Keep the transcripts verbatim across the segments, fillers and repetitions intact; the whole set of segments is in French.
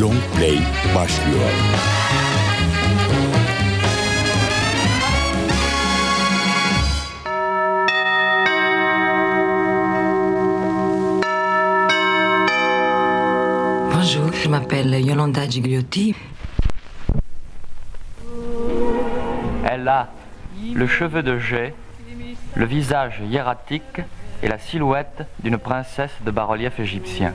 Long Play başlıyor. Bonjour, je m'appelle Yolanda Gigliotti. Elle a le cheveu de jais, le visage hiératique et la silhouette d'une princesse de bas-relief égyptien.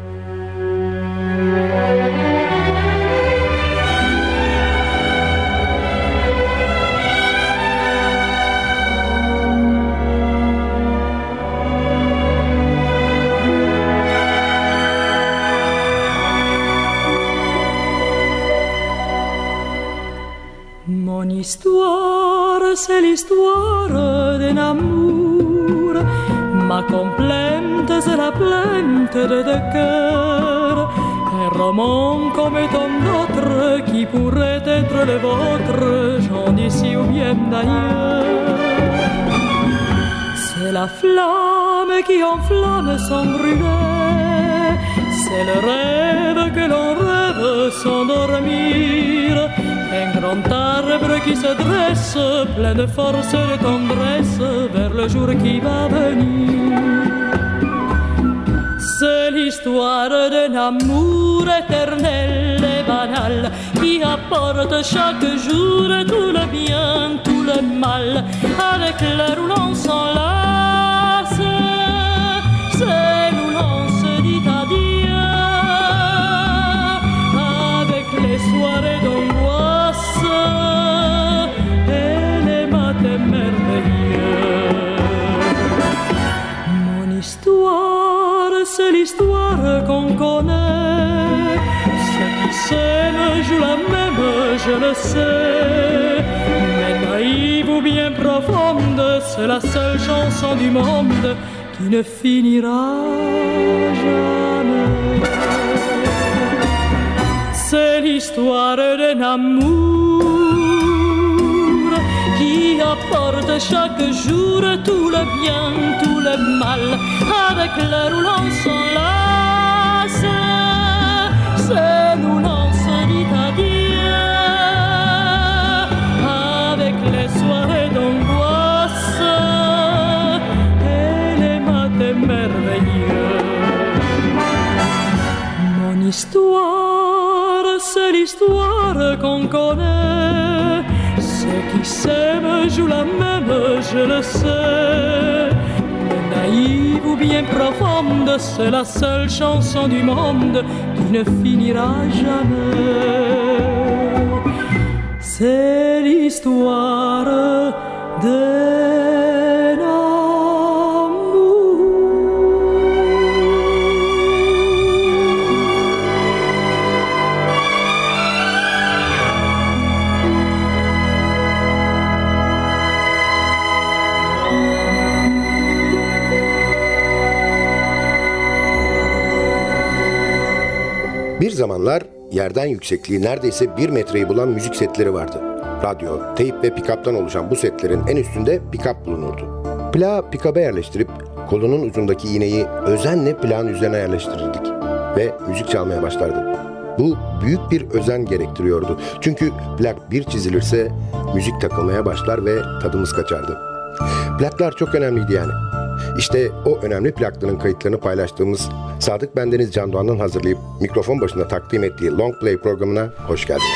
Mon histoire, c'est l'histoire d'un amour. Ma complainte, c'est la plainte de deux cœurs. Un roman comme tant d'autres qui pourrait être le vôtre, j'en d'ici ou bien d'ailleurs. C'est la flamme qui enflamme sans brûler. C'est le rêve que l'on rêve sans dormir. Un grand arbre qui se dresse, plein de force et de tendresse, vers le jour qui va venir. C'est l'histoire d'un amour éternel et banal, qui apporte chaque jour tout le bien, tout le mal, avec l'heure où l'on s'enlace. C'est où l'on se dit adieu, avec les soirées d'angoisse et les matins merveilleux. Mon histoire, c'est l'histoire qu'on connaît. Ceux qui s'aiment jouent la même, je le sais. Mais naïve ou bien profonde, c'est la seule chanson du monde qui ne finira jamais. C'est l'histoire d'un amour qui apporte chaque jour tout le bien, tout le mal, avec l'heure où l'on s'enlace. C'est où l'on se dit adieu, avec les soirées d'angoisse et les matins merveilleux. Mon histoire, c'est l'histoire qu'on connaît. Ceux qui s'aiment jouent la même, je le sais. Mais naïve ou bien profonde, c'est la seule chanson du monde qui ne finira jamais. C'est l'histoire d'un amour. Bir zamanlar yerden yüksekliği neredeyse bir metreyi bulan müzik setleri vardı. Radyo, teyp ve pick-up'tan oluşan bu setlerin en üstünde pick-up bulunurdu. Plağı pick-up'a yerleştirip kolunun ucundaki iğneyi özenle plağın üzerine yerleştirirdik ve müzik çalmaya başlardı. Bu büyük bir özen gerektiriyordu. Çünkü plak bir çizilirse müzik takılmaya başlar ve tadımız kaçardı. Plaklar çok önemliydi yani. İşte o önemli plakların kayıtlarını paylaştığımız Sadık Bendeniz Can Doğan'ın hazırlayıp mikrofon başında takdim ettiği Long Play programına hoş geldiniz.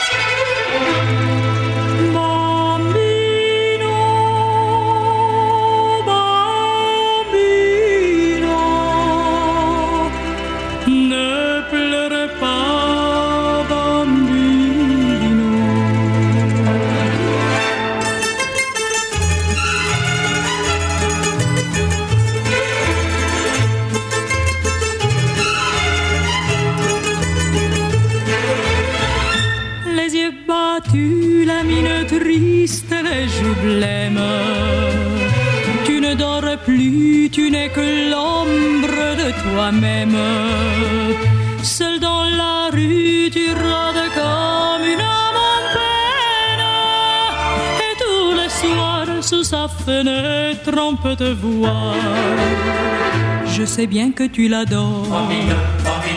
La mine triste, les joues blêmes. Tu ne dors plus, tu n'es que l'ombre de toi-même. Seul dans la rue, tu rôdes comme une âme en peine. Et tous les soirs, sous sa fenêtre, on peut te voir. Je sais bien que tu l'adores.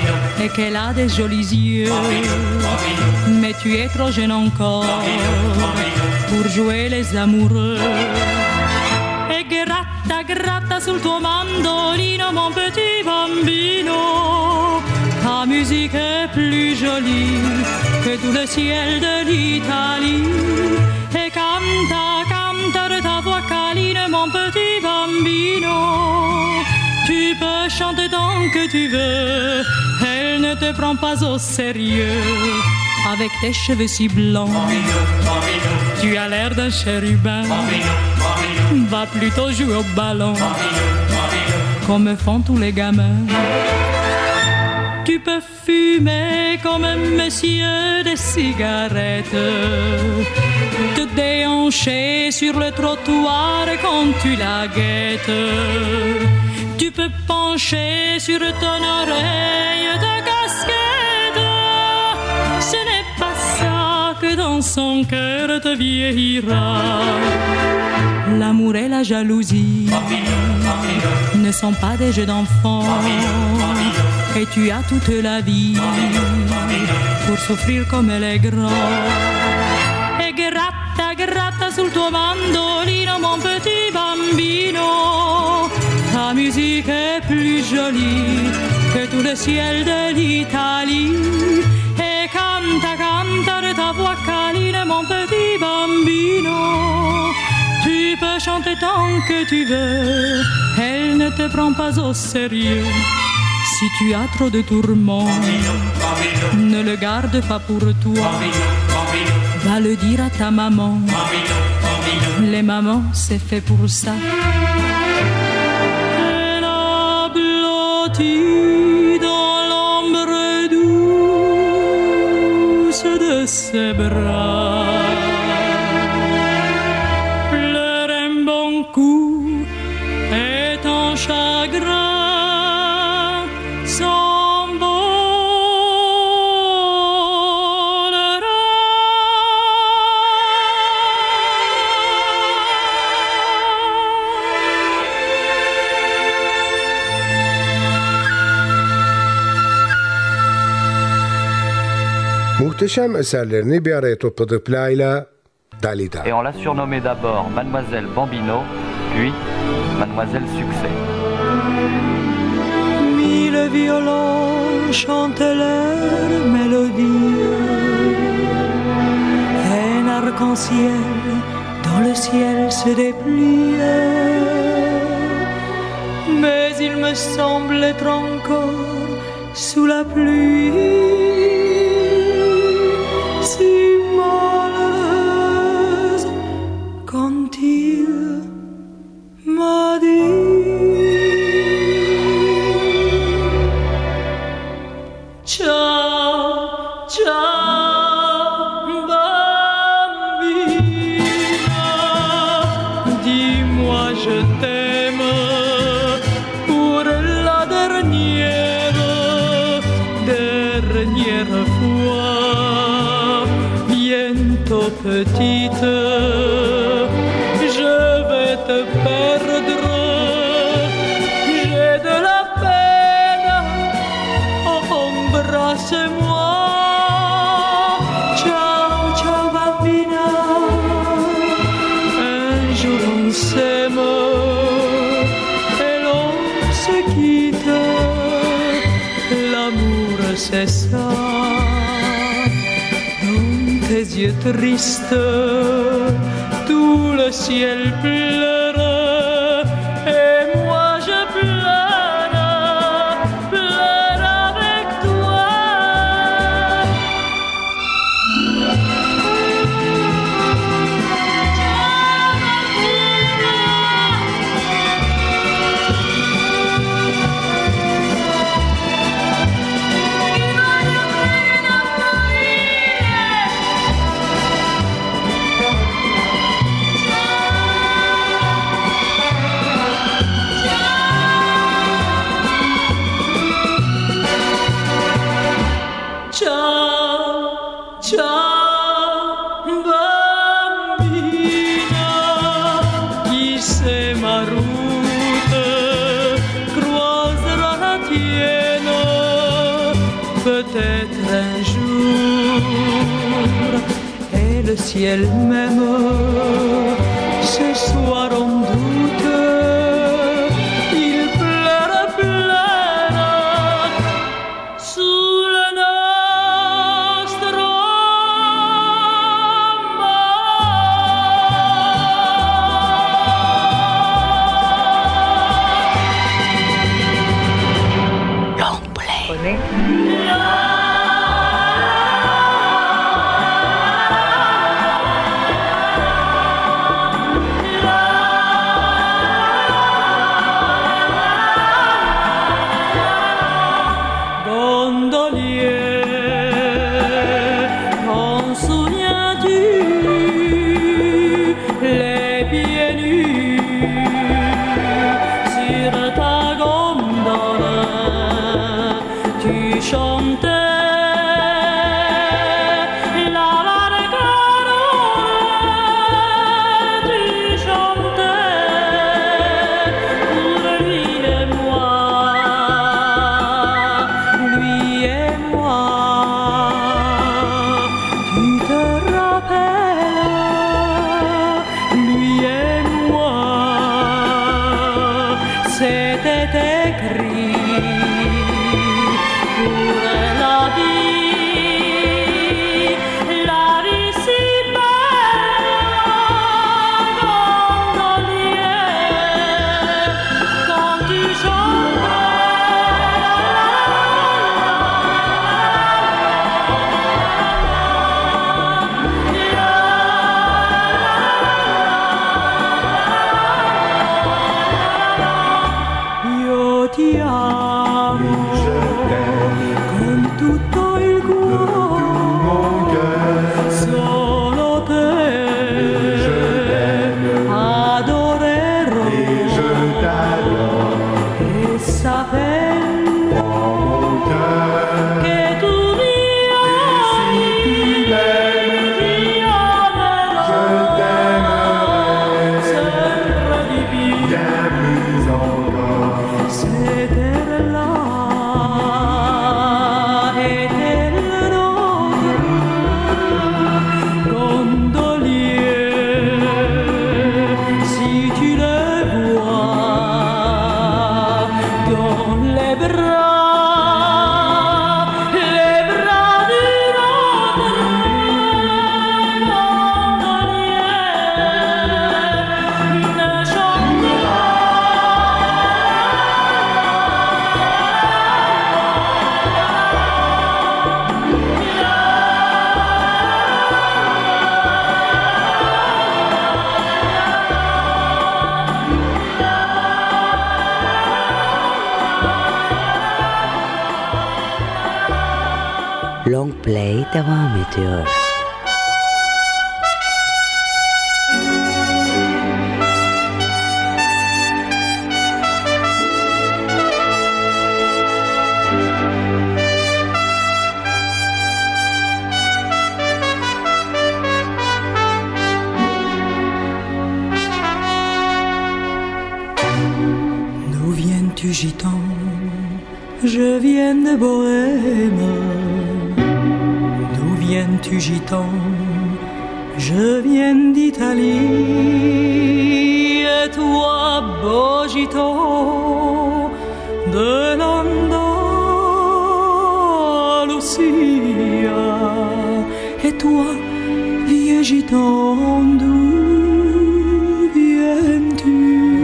et qu'elle a des jolis yeux. Mais tu es trop jeune encore pour jouer les amoureux. Et gratta, gratta sul tuo mandolino, mon petit bambino. Ta musique est plus jolie que tout le ciel de l'Italie. Et canta, canta de ta voix câline, mon petit bambino. Tu peux chanter tant que tu veux, elle ne te prend pas au sérieux. Avec tes cheveux si blancs, tu as l'air d'un chérubin. Va plutôt jouer au ballon, comme font tous les gamins. Tu peux fumer comme un monsieur des cigarettes, te déhancher sur le trottoir quand tu la guettes. Tu peux pencher sur ton oreille ta casquette. Ce n'est pas ça que dans son cœur te vieillira. L'amour et la jalousie ne sont pas des jeux d'enfants. Et tu as toute la vie pour souffrir comme elle est grande. Et gratta, gratta sul tuo mandolino, mon petit bambino. Ta musique est plus jolie que tout le ciel de l'Italie. Et canta, canta de ta voix câline, mon petit bambino. Tu peux chanter tant que tu veux, elle ne te prend pas au sérieux. Si tu as trop de tourments, ne le garde pas pour toi. Va le dire à ta maman. Les mamans, c'est fait pour ça. Elle a blotti dans l'ombre douce de ses bras. Pleure un bon coup et ton chagrin Muhteşem eserlerini bir araya topladı Pla'yla Dalida. Et on l'a surnommée d'abord Mademoiselle Bambino, puis Mademoiselle Succès. Mille violons chantent leur mélodie. Un arc-en-ciel dans le ciel se déplie. Mais il me semble être encore sous la pluie. Si malheureuse quand il m'a dit ciao, ciao bambina, dis-moi je t'aime pour la dernière, dernière fois. Petite, je vais te perdre, j'ai de la peine, embrasse-moi. Ciao, ciao bambina, un jour on s'aime et l'on se quitte, l'amour c'est ça. Tes yeux tristes, tout le ciel pleure, et moi je pleure, pleure avec toi. peut-être un jour, et le ciel même, ce soir on doute, il pleure, pleure sous le nostro Long play. Long play devam ediyor. D'où viens-tu, gitan? Je viens de Bohême. D'où viens-tu, gitan? Je viens d'Italie. Et toi, beau gitan de l'Andalusia. Et toi, vieux gitan, d'où viens-tu?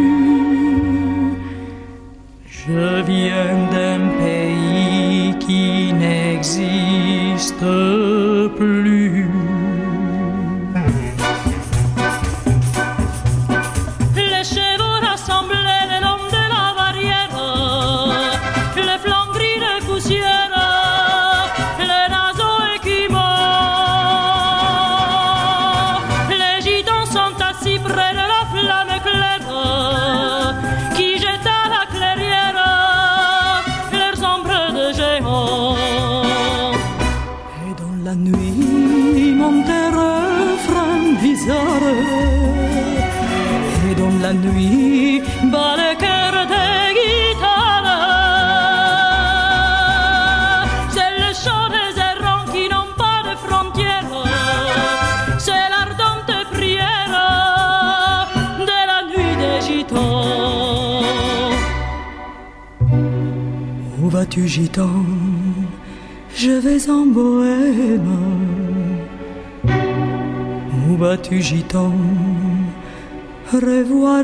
Je viens d'un pays qui n'existe plus. Les chevaux rassemblés le long de la barrière, les flancs gris de poussière, les naseaux écumants. Les gitans sont assis près de la flamme claire qui jette à la clairière leurs ombres de géants. Et dans la nuit, Où vas-tu, gitan? Je vais en bohème. Où vas-tu, gitan? Revoir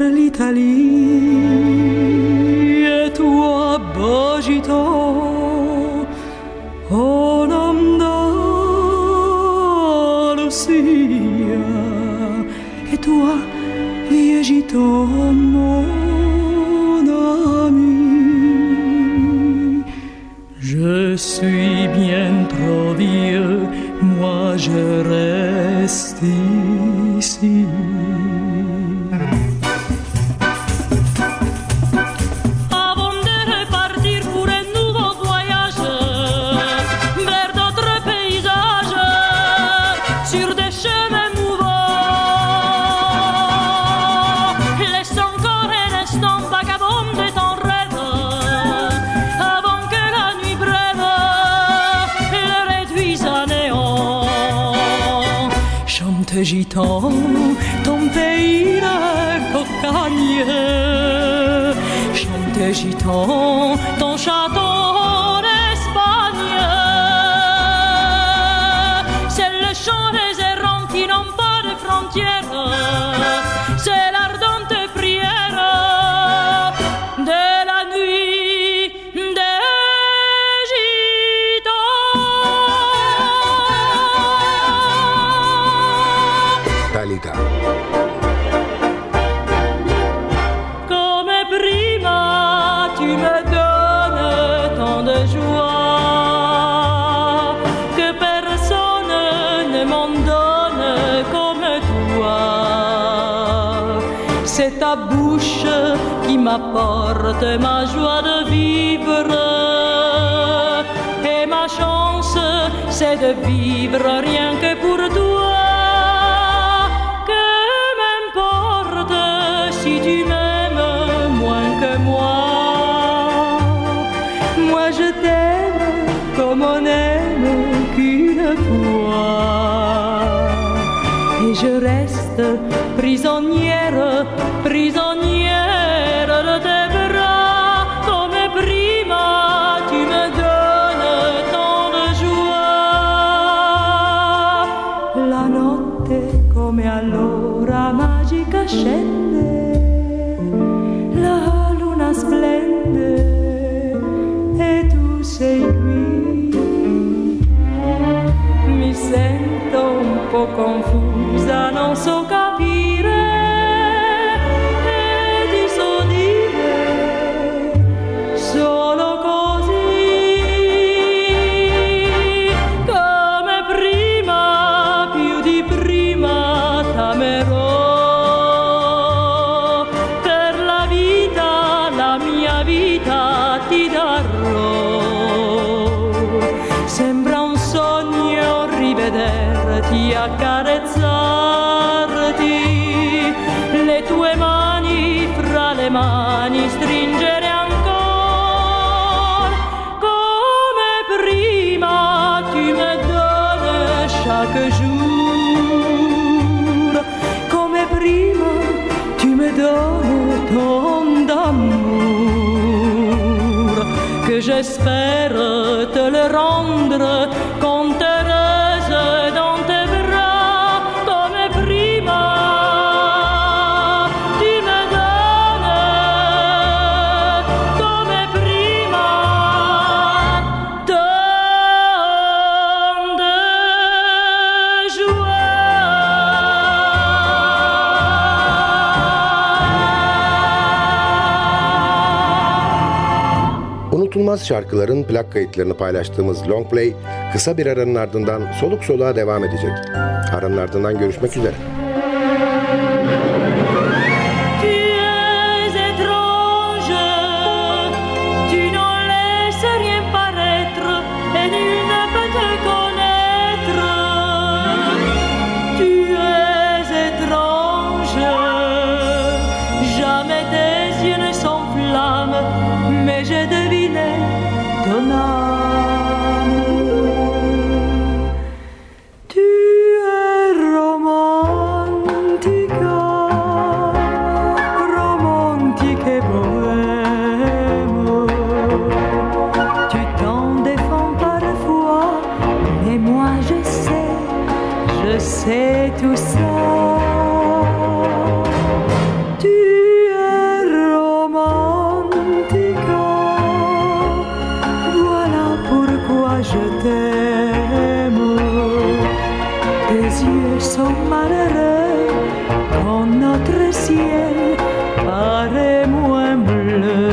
l'Italie. Et toi, beau gitan, en Andalusia. Et toi, vieux gitan, mon ami, je suis bien trop vieux, moi je reste ici. Avant de repartir pour un nouveau voyage vers d'autres paysages, sur des chemins mouvants, laisse encore un instant vagabonder ton rêve, avant que la nuit brève le réduise à néant. Chante gitan, ton pays la cocagne. Chante gitan, ton château d'Espagne. C'est le chant des errants qui n'ont pas de frontières. C'est l'ardente prière de la nuit des gitans. Dalida. Come prima tu me donnes tant de joie que personne ne m'en donne comme toi. C'est ta bouche qui m'apporte ma joie de vivre. Et ma chance, c'est de vivre rien que pour toi. Que m'importe si tu m'aimes moins que moi. Moi je t'aime comme on n'aime qu'une fois. Et je reste prisonnière, prisonnière de tes bras. Comme prima tu me donnes tant de joie. La notte come allora magica scende, la luna splende e tu sei qui. Mi sento un po' confusa, non so capire e ti so dire solo così. Come prima, più di prima t'amerò. Per la vita, la mia vita ti darò. Sembra un sogno rivederti, accarezzarti, le tue mani fra le mani stringere ancora. Come prima tu me donnes chaque jour. Come prima tu me donnes tant d'amour que j'espère te le rendre quand heureuse dans tes bras. Comme prima tu me donnes, comme prima tant de joie. Unutulmaz şarkıların plak kayıtlarını paylaştığımız Long Play kısa bir aranın ardından soluk soluğa devam edecek. Aranın ardından görüşmek üzere. Tu es étrange, tu n'en laisses rien paraître et nul ne peut te connaître. Tu es étrange, jamais tes yeux ne s'enflamment, mais j'ai deviné ton âme. Tu es romantique. je t'aime. Tes yeux sont malheureux quand notre ciel paraît moins bleu.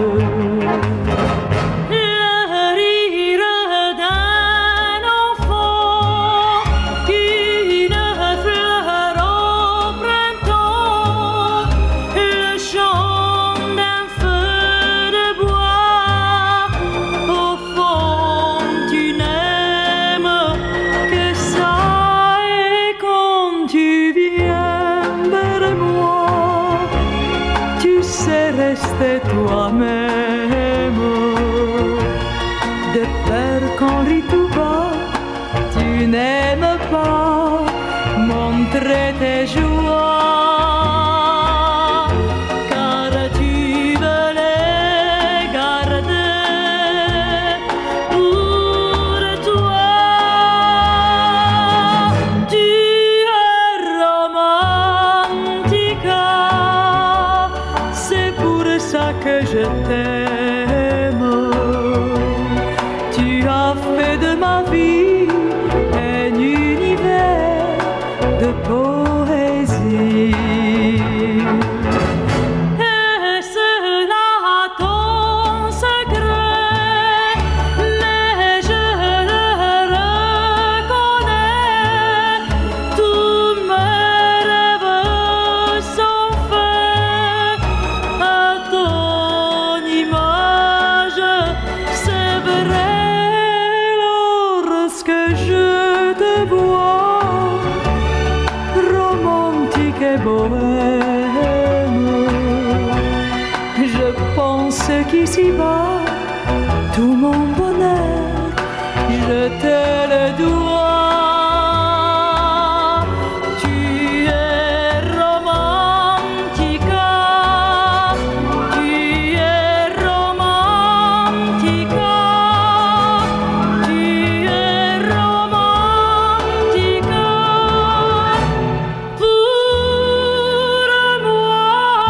Rester toi-même, de peur qu'on rit tout bas, tu n'aimes pas montrer tes joies, car tu veux les garder pour toi. Tu es romantique, c'est pour ça que je t'aime. Tu as fait de ma vie un univers de poésie. Est-ce là ton secret? Mais je le reconnais. Tous mes rêves sont faits à ton image. C'est vrai lorsque je te vois, romantique et bohème. Je pense qu'ici-bas, tout mon bonheur, je te le dois. Tu es romantique, tu es romantique, tu es romantique pour moi.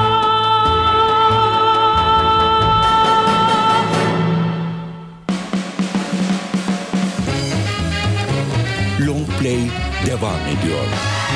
Long Play devam ediyor.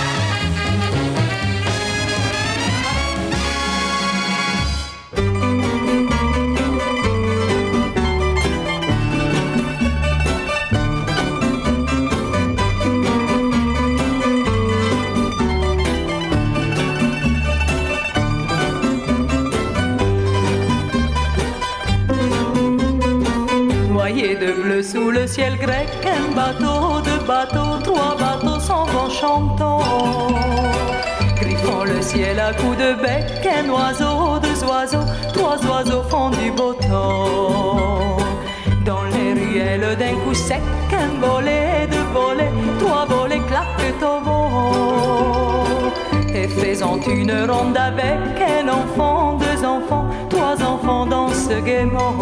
Noyé de bleu sous le ciel grec, un bateau, deux bateaux, trois bateaux s'en vont chantant. Griffant le ciel à coups de bec, un oiseau, deux oiseaux, trois oiseaux font du beau temps. Dans les ruelles d'un coup sec, un volet, deux volets, trois volets claquent au vent. Et faisant une ronde avec un enfant, deux enfants, trois enfants dansent gaiement.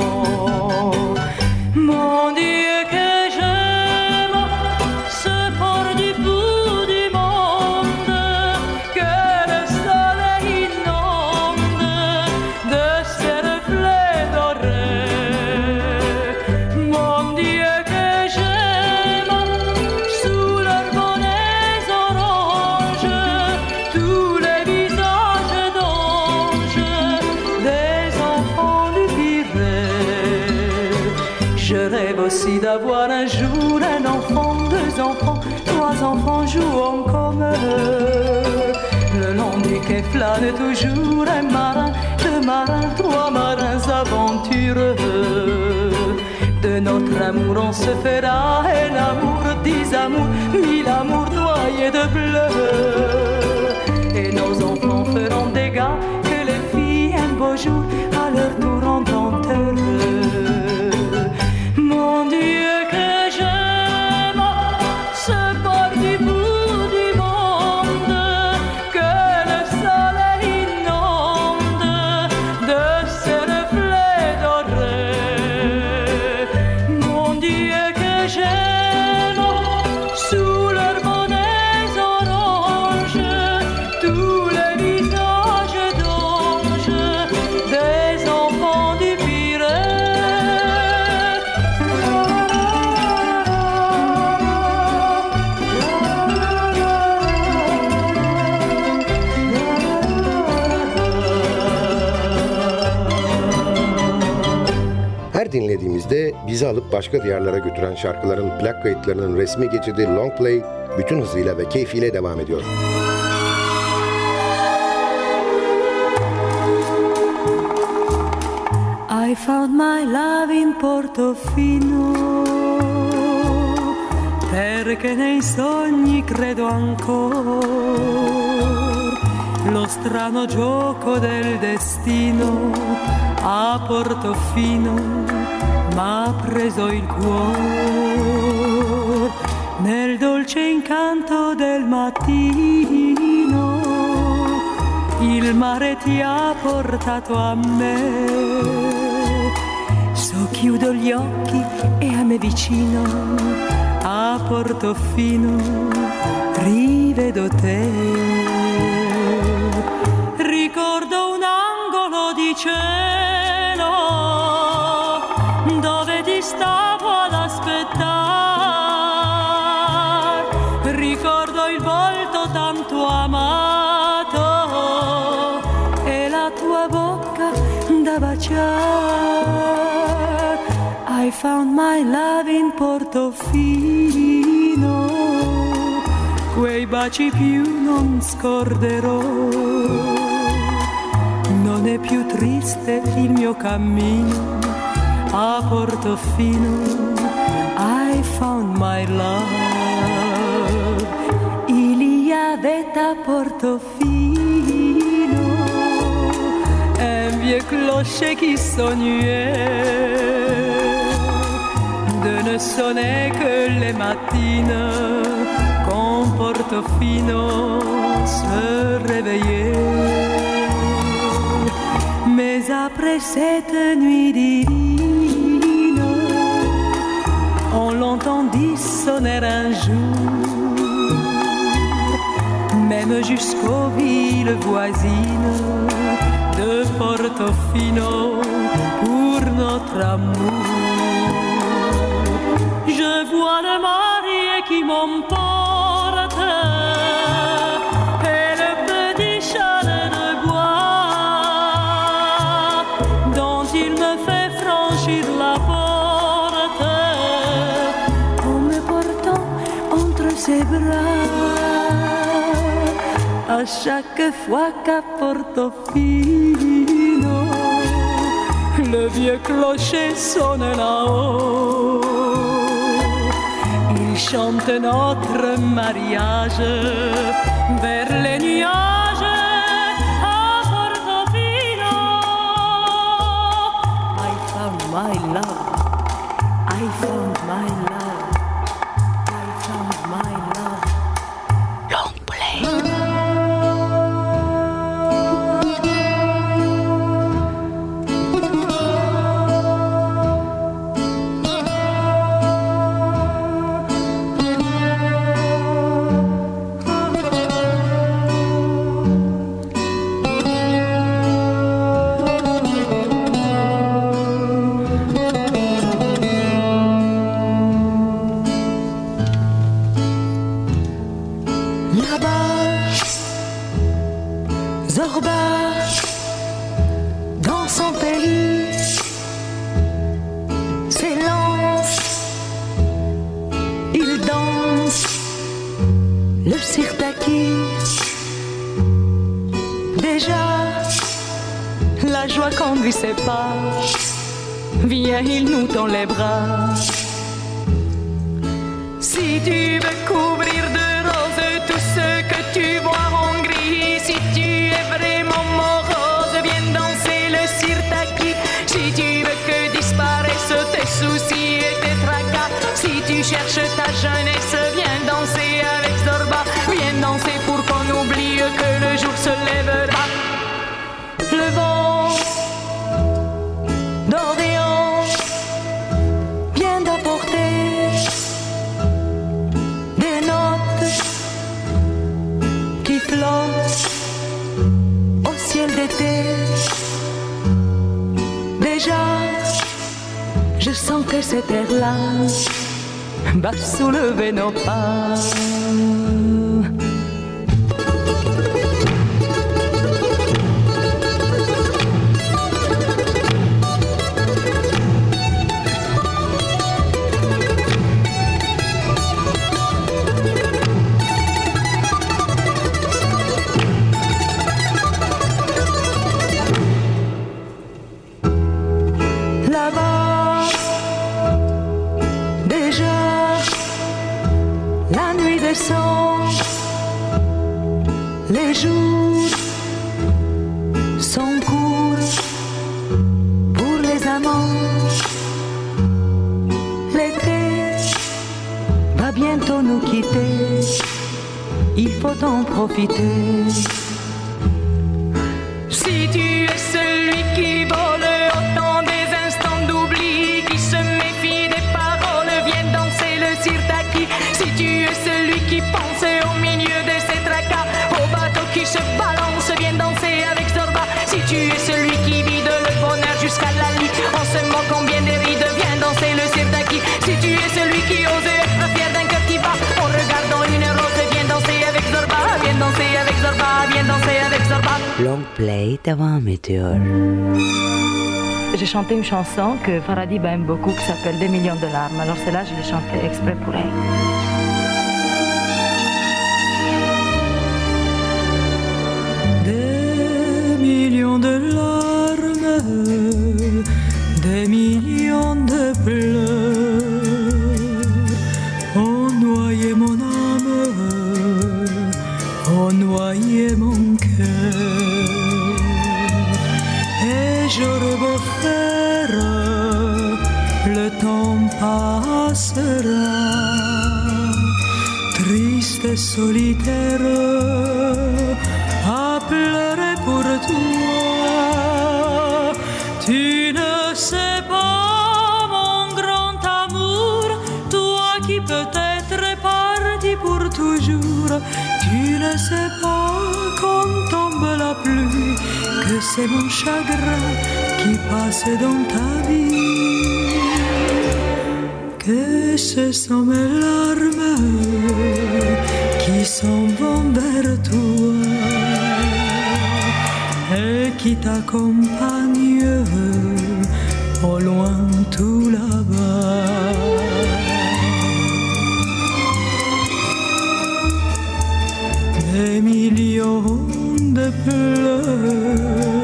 Mon Dieu que j'aime ce port du bout du monde, que le soleil inonde de ses reflets dorés. Mon Dieu que j'aime sous leurs bonnets oranges tous les visages d'anges des enfants du Pirée. Je rêve aussi d'avoir un jour un enfant, deux enfants, trois enfants jouant comme eux. Le long du quai flâne toujours un marin, deux marins, trois marins aventureux. De notre amour on se fera un amour, dix amours, mille amours noyés de bleu. Et nos enfants feront des gars que les filles un beau jour à leur tour rendront heureux. Mon Dieu que j'aime ce port du bout du monde, que le soleil inonde de ses reflets dorés. Mon Dieu que j'aime sous leurs bonnets oranges tous les visages d'anges des enfants Bizde bizi alıp başka diyarlara götüren şarkıların plak kayıtlarının resmi geçidi Long Play bütün hızıyla ve keyfiyle devam ediyor. I found my love in Portofino, perché nei sogni credo ancora. Lo strano gioco del destino a Portofino m'ha preso il cuore. Nel dolce incanto del mattino il mare ti ha portato a me. So chiudo gli occhi e a me vicino a Portofino rivedo te. Ricordo un angolo di cielo dove ti stavo ad aspettare. Ricordo il volto tanto amato e la tua bocca da baciare. I found my love in Portofino, quei baci più non scorderò. Non è più triste il mio cammino a Portofino. I found my love. Il y avait à Portofino un vieux clocher qui sonnait de ne sonner que les matines quand Portofino se réveillait. Mais après cette nuit divine, on l'entendit sonner un jour, même jusqu'aux villes voisines de Portofino pour notre amour. Je vois le marié qui m'emporte et le petit chalet de bois dont il me fait franchir la porte en me portant entre ses bras. À chaque fois qu'à Portofino le vieux clocher sonne là-haut, il chante notre mariage vers les nuages à Portofino. I found my love, I found my love, I found my love. Long play. Conduit ses pas, viens, il nous tend les bras. Si tu veux couvrir de rose tout ce que tu vois en gris, si tu es vraiment morose, viens danser le sirtaki. Si tu veux que disparaissent tes soucis et tes tracas, si tu cherches ta jeunesse, viens danser avec Zorba. Viens danser pour qu'on oublie que le jour se lèvera. Le vent d'Orient vient d'apporter des notes qui flottent au ciel d'été. Déjà, je sens que cet air-là va soulever nos pas. sont les jours sont courts pour les amants. L'été va bientôt nous quitter, il faut en profiter. Si tu es celui qui vole autant des instants d'oubli, qui se méfie des paroles, viens danser le sirtaki. Si tu es celui qui pense au milieu de ses tracas, au bateau qui se balance, viens danser avec Zorba. Si tu es celui qui vide le bonheur jusqu'à la lit, en se moquant bien des rides, viens danser le sirtaki. Si tu es celui qui ose être fier d'un cœur qui bat, en regardant une rose, viens danser avec Zorba, viens danser avec Zorba, viens danser avec Zorba. Long play devam ediyor. J'ai chanté une chanson que Faradib aime beaucoup qui s'appelle Des millions de larmes. Alors celle-là, je l'ai chantée exprès pour elle. Des millions de larmes, des millions de pleurs ont noyé mon âme, ont noyé mon cœur. Et j'aurais beau faire, le temps passera, triste et solitaire, à pleurer pour toi. Tu ne sais pas, mon grand amour, toi qui peut-être es parti pour toujours. Tu ne sais pas, quand tombe la pluie, que c'est mon chagrin qui passe dans ta vie. Que ce sont mes larmes qui s'en vont vers toi et qui t'accompagnent au loin tout là-bas. Des millions de pleurs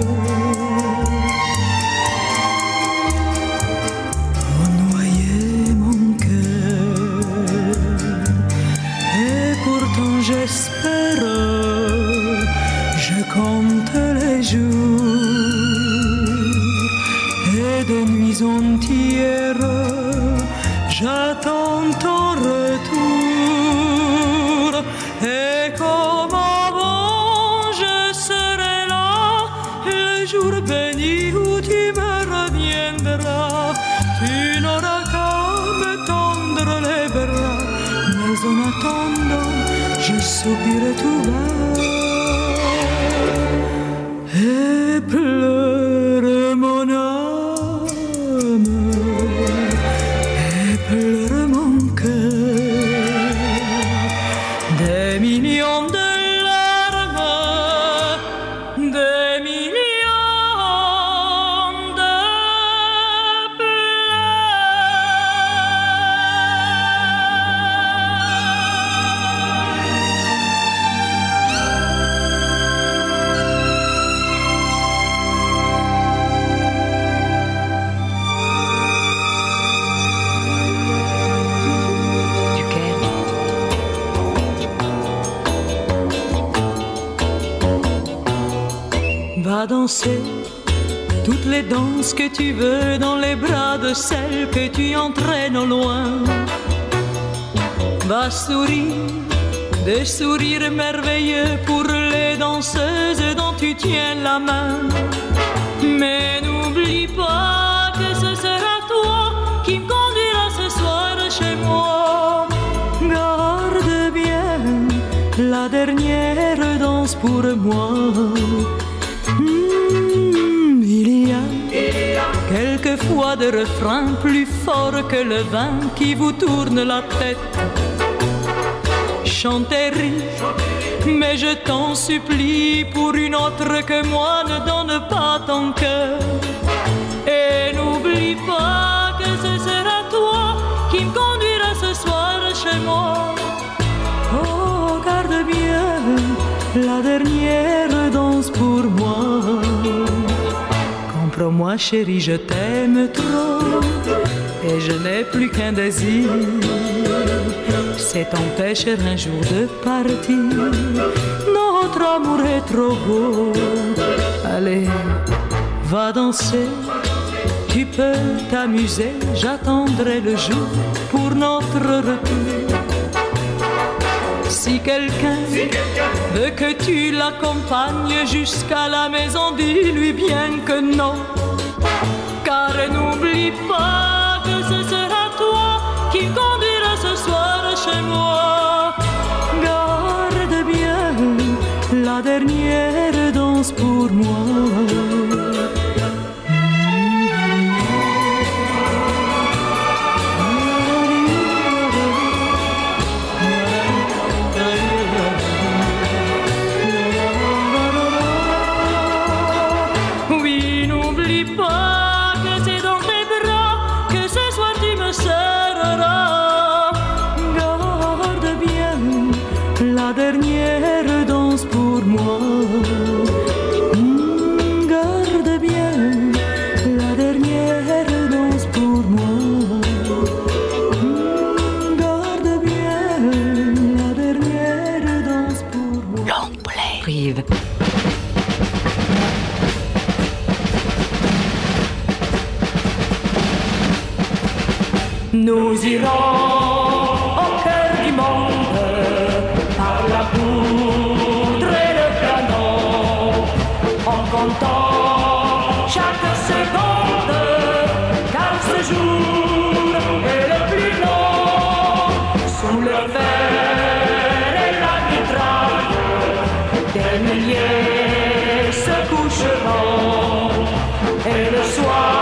ont noyé mon cœur, et pourtant j'espère, je compte les jours, et de nuits entières j'attends ton retour. Et comme avant je serai là, le jour béni où tu me reviendras. Tu n'auras qu'à me tendre les bras, mais en attendant je soupirai tout bas et pleure mon âme et pleure mon cœur. Des millions de larmes, des millions de Va danser toutes les danses que tu veux dans les bras de celle que tu entraînes au loin. Va sourire des sourires merveilleux pour les danseuses dont tu tiens la main. Mais n'oublie pas que ce sera toi qui me conduira ce soir chez moi. Garde bien la dernière danse pour moi. Mmh, il y a quelquefois des refrains plus forts que le vin qui vous tourne la tête. Chantez, rire, mais je t'en supplie, pour une autre que moi ne donne pas ton cœur. Et n'oublie pas que ce sera toi qui me conduira ce soir chez moi. Oh, garde bien la dernière danse pour moi. Comprends-moi chérie, je t'aime trop, et je n'ai plus qu'un désir, c'est t'empêcher un jour de partir. Notre amour est trop beau, allez, va danser. Tu peux t'amuser, j'attendrai le jour pour notre retour. Si quelqu'un si quelqu'un veut que tu l'accompagnes jusqu'à la maison, dis-lui bien que non. Car n'oublie pas que ce sera toi qui conduiras ce soir chez moi. Garde bien la dernière danse pour moi. Nous irons au cœur du monde par la poudre et le canon, en comptant chaque seconde, car ce jour est le plus long. Sous le fer et la mitraille, des milliers se coucheront, et le soir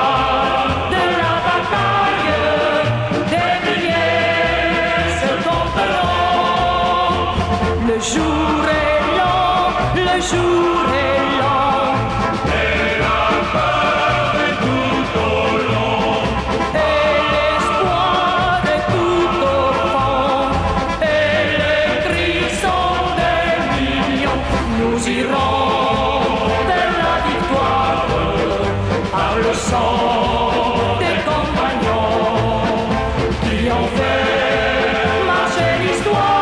le jour est long, le jour est long, et la peur est tout au long, et l'espoir est tout au fond, et les cris sont des millions. Nous irons vers la victoire par le sang des compagnons qui ont fait marcher l'histoire.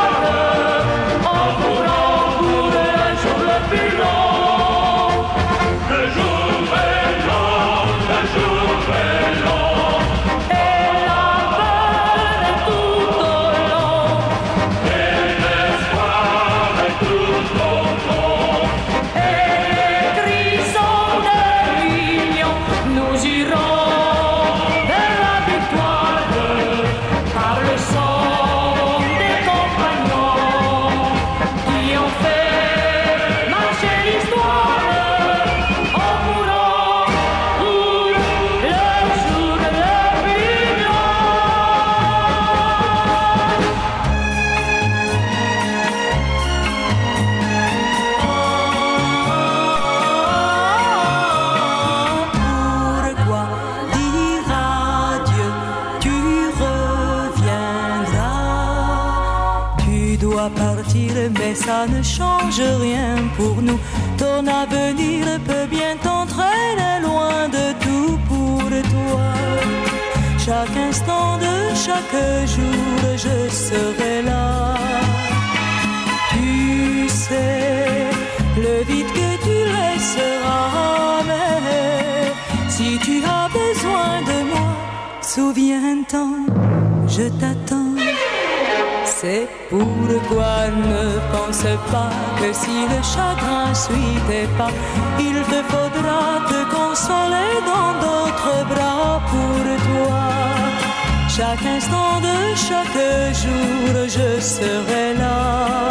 Mais ça ne change rien pour nous. Ton avenir peut bien t'entraîner loin de tout pour toi. Chaque instant de chaque jour, je serai là. Tu sais, le vide que tu laisseras, mais si tu as besoin de moi, souviens-t'en, je t'attends. C'est pourquoi ne pense pas que si le chagrin suit tes pas, il te faudra te consoler dans d'autres bras pour toi. Chaque instant de chaque jour, je serai là.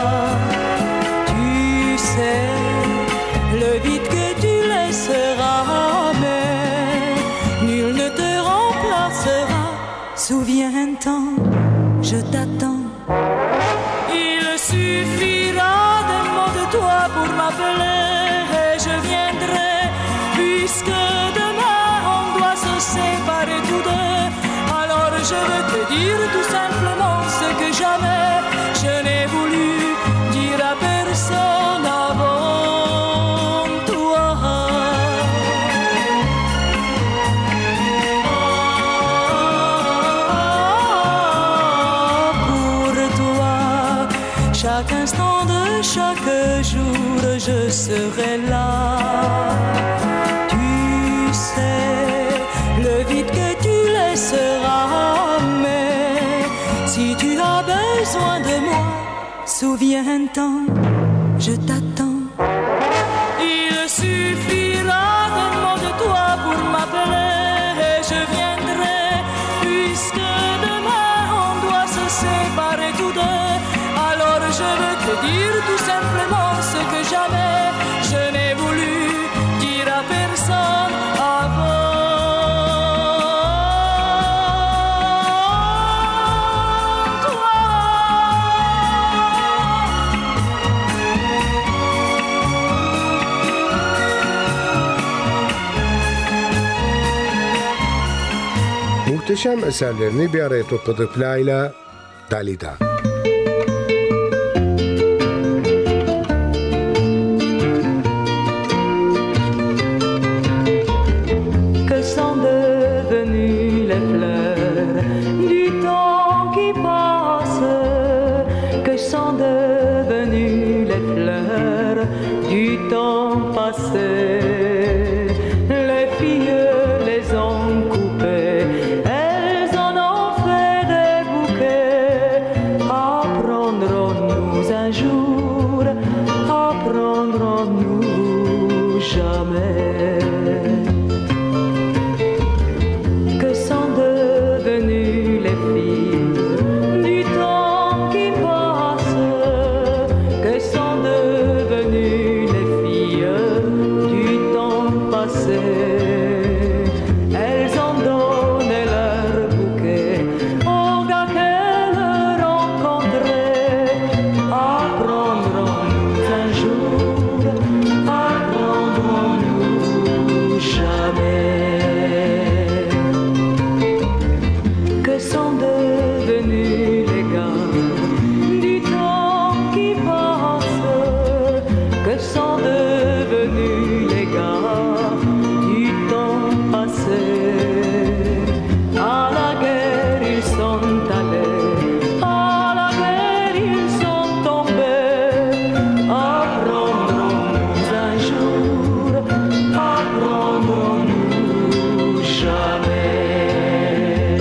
Tu sais, le vide que tu laisseras, mais nul ne te remplacera. Souviens-t'en, je t'attends. Il suffira d'un mot de toi pour m'appeler et je viendrai, puisque demain on doit se séparer tous deux. Alors je veux te dire tout simplement ce que jamais je n'ai voulu dire à personne avant toi. Oh, chaque instant de chaque jour, je serai là. Tu sais, le vide que tu laisseras, mais si tu as besoin de moi, souviens-t'en, je t'attends. Il suffira d'un mot de toi pour m'appeler et je viendrai, puisque demain on doit se séparer tous deux. Alors je veux te dire tout simplement ce que jamais je n'ai voulu dire à personne avant. Muhteşem eserlerini bir araya topladığı plağıyla Dalida. Que sont devenues les fleurs du temps qui passe? Que sont devenues les fleurs du temps passé? Les filles les ont coupées, elles en ont fait des bouquets. Apprendrons-nous un jour, apprendrons-nous jamais? Que sont devenues les filles du temps qui passe? Que sont devenues les filles du temps passé? Elles ont donné leur bouquet aux gars qu'elles rencontraient. Apprendrons-nous un jour, apprendrons-nous jamais? Que sont devenus les gars du temps qui passe? Que sont devenus les gars du temps passé? À la guerre ils sont allés, à la guerre ils sont tombés. Apprendrons-nous un jour, apprendrons-nous jamais?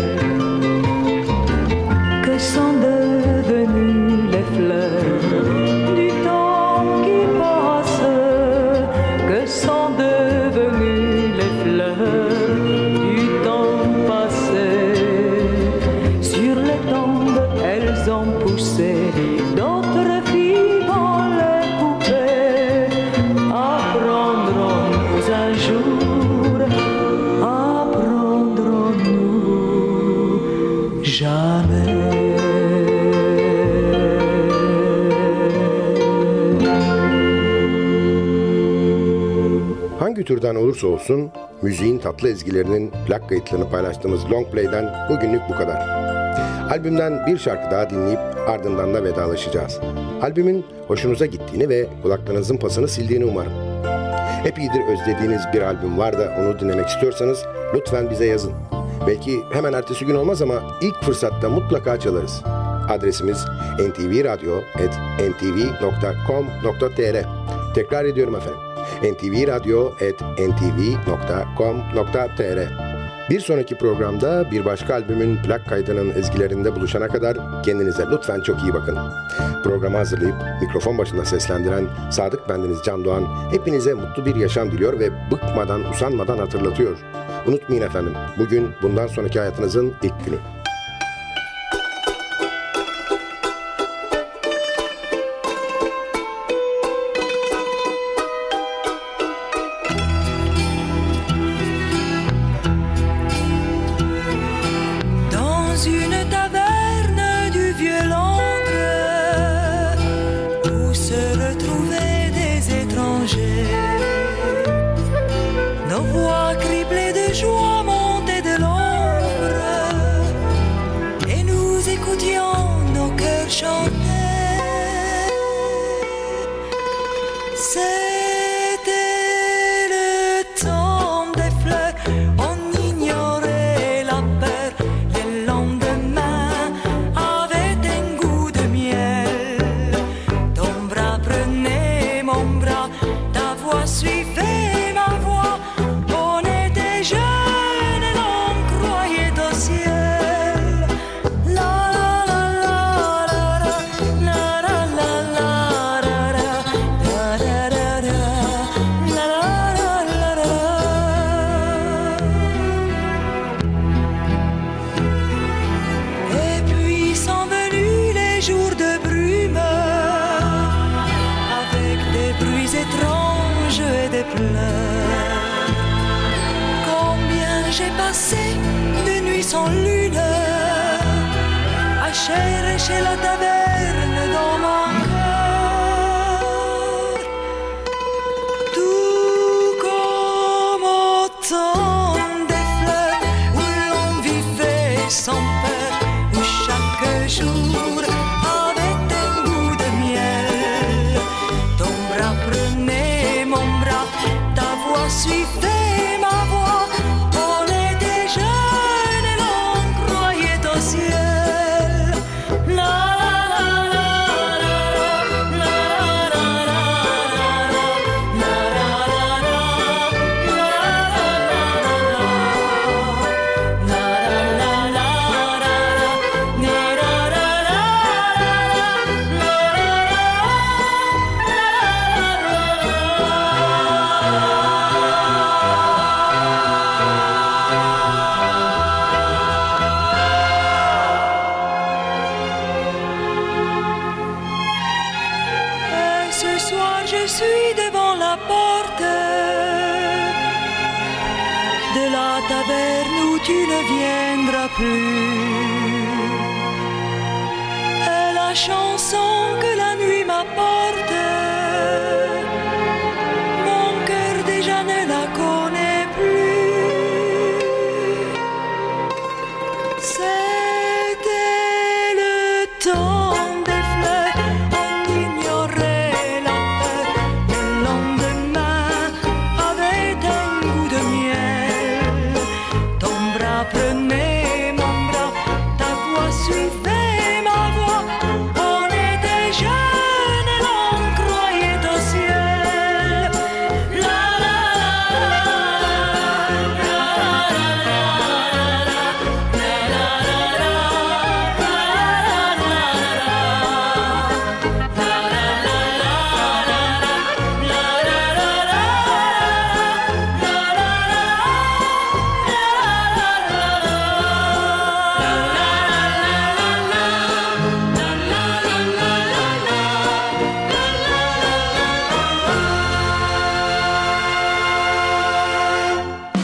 Que sont devenues les fleurs du temps qui passe? Que sont devenues les fleurs du temps passé? Sur les tombes elles ont poussé d'autres filles dans les poupées. Apprendrons-nous un jour, apprendrons-nous jamais? Hangi türden olursa olsun müziğin tatlı ezgilerinin plak kayıtlarını paylaştığımız Long Play'den bugünlük bu kadar. Albümden bir şarkı daha dinleyip ardından da vedalaşacağız. Albümün hoşunuza gittiğini ve kulaklarınızın pasını sildiğini umarım. Epeydir özlediğiniz bir albüm var da onu dinlemek istiyorsanız lütfen bize yazın. Belki hemen ertesi gün olmaz ama ilk fırsatta mutlaka çalarız. Adresimiz en ti vi radyo at en ti vi nokta com nokta t r. Tekrar ediyorum efendim. en ti vi radyo at en ti vi nokta com nokta t r. Bir sonraki programda bir başka albümün plak kaydının ezgilerinde buluşana kadar kendinize lütfen çok iyi bakın. Programı hazırlayıp mikrofon başında seslendiren Sadık bendeniz Can Doğan hepinize mutlu bir yaşam diliyor ve bıkmadan, usanmadan hatırlatıyor. Unutmayın efendim, bugün bundan sonraki hayatınızın ilk günü. pleure. Combien j'ai passé de nuits sans lune à chercher la taverne dans mon cœur. Tout comme autant des fleurs où l'on vivait sans peur, où chaque jour avait un goût de miel. Ton bras prenait mon bras, ta voix suivait ma voix. On était jeunes et l'on croyait au ciel. La la la la la la la Et ce soir je suis devant la porte de la taverne où tu ne viendras plus. Et la chanson que la nuit m'apporte, mon cœur déjà ne la connaît plus. C'était le temps des fleurs, on ignorait la peur. Le lendemain avait un goût de miel. Ton bras prenait mon bras, ta voix suivait ma voix. On était jeunes et l'on croyait au ciel. La la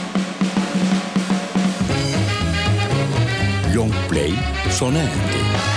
Long play sonante.